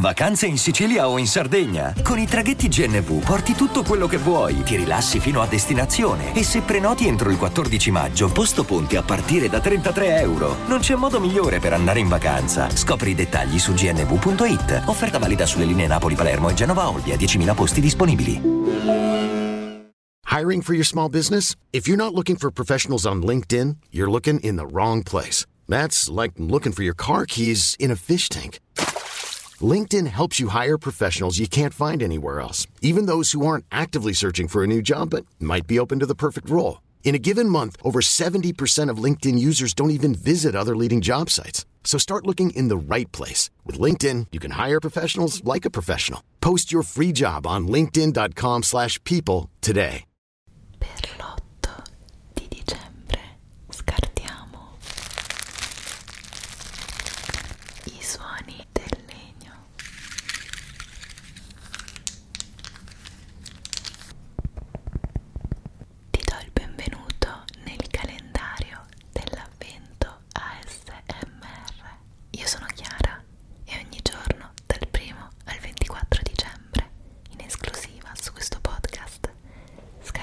Vacanze in Sicilia o in Sardegna? Con i traghetti GNV porti tutto quello che vuoi, ti rilassi fino a destinazione e se prenoti entro il 14 maggio, posto ponti a partire da €33. Non c'è modo migliore per andare in vacanza. Scopri i dettagli su gnv.it. Offerta valida sulle linee Napoli-Palermo e Genova-Olbia, 10.000 posti disponibili. Hiring for your small business? If you're not looking for professionals on LinkedIn, you're looking in the wrong place. That's like looking for your car keys in a fish tank. LinkedIn helps you hire professionals you can't find anywhere else, even those who aren't actively searching for a new job but might be open to the perfect role. In a given month, over 70% of LinkedIn users don't even visit other leading job sites. So start looking in the right place. With LinkedIn, you can hire professionals like a professional. Post your free job on linkedin.com/people today. Per l'8 di dicembre scartiamo i suoni del legno. Ti do il benvenuto nel calendario dell'avvento ASMR. Io sono Chiara e ogni giorno dal 1° al 24 dicembre in esclusiva su questo podcast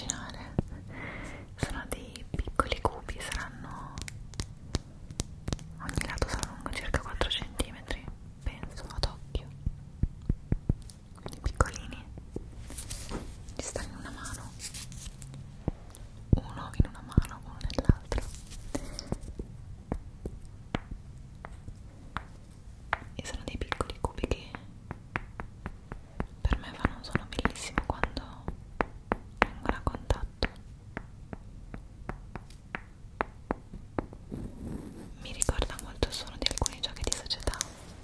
immaginare. Sono dei piccoli cubi, saranno, ogni lato sarà lungo circa 4 centimetri, penso, ad occhio, quindi piccolini. Ci stanno in una mano, uno in una mano, uno nell'altro, e sono dei piccoli cubi che per me fanno un suono bellissimo quando vengono a contatto. Mi ricorda molto il suono di alcuni giochi di società.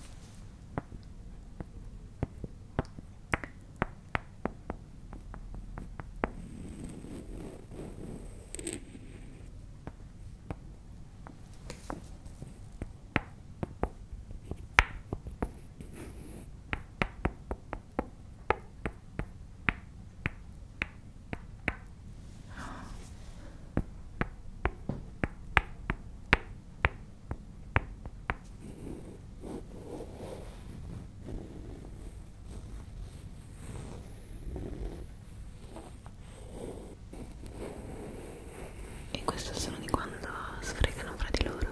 E questo è il suono di quando sfregano fra di loro.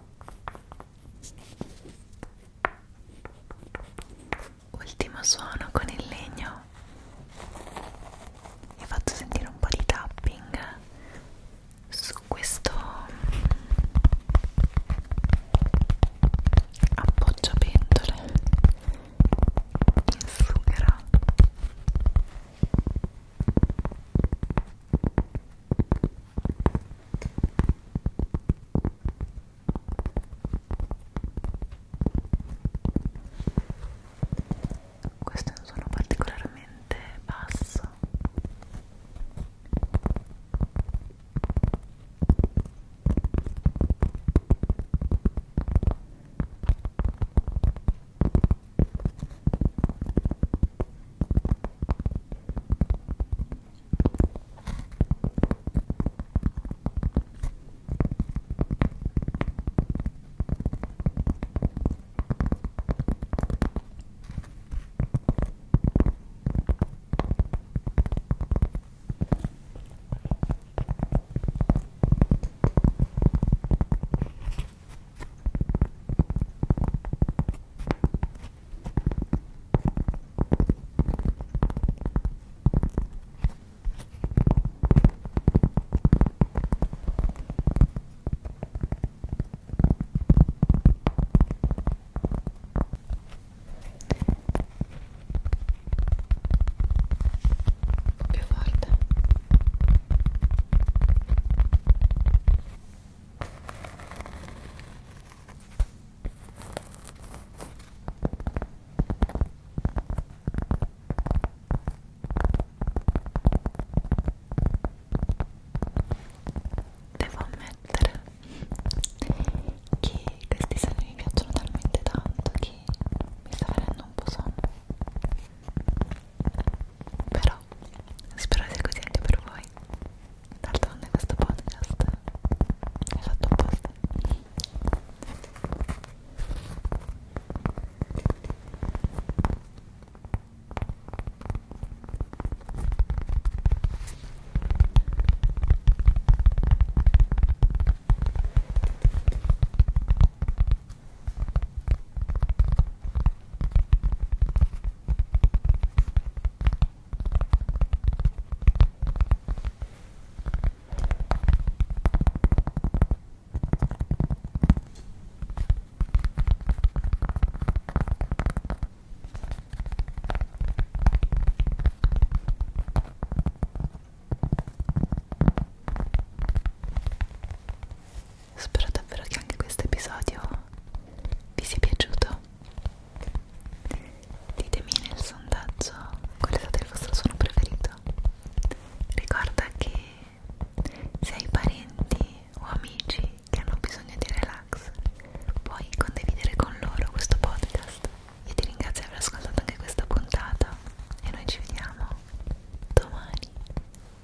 Ultimo suono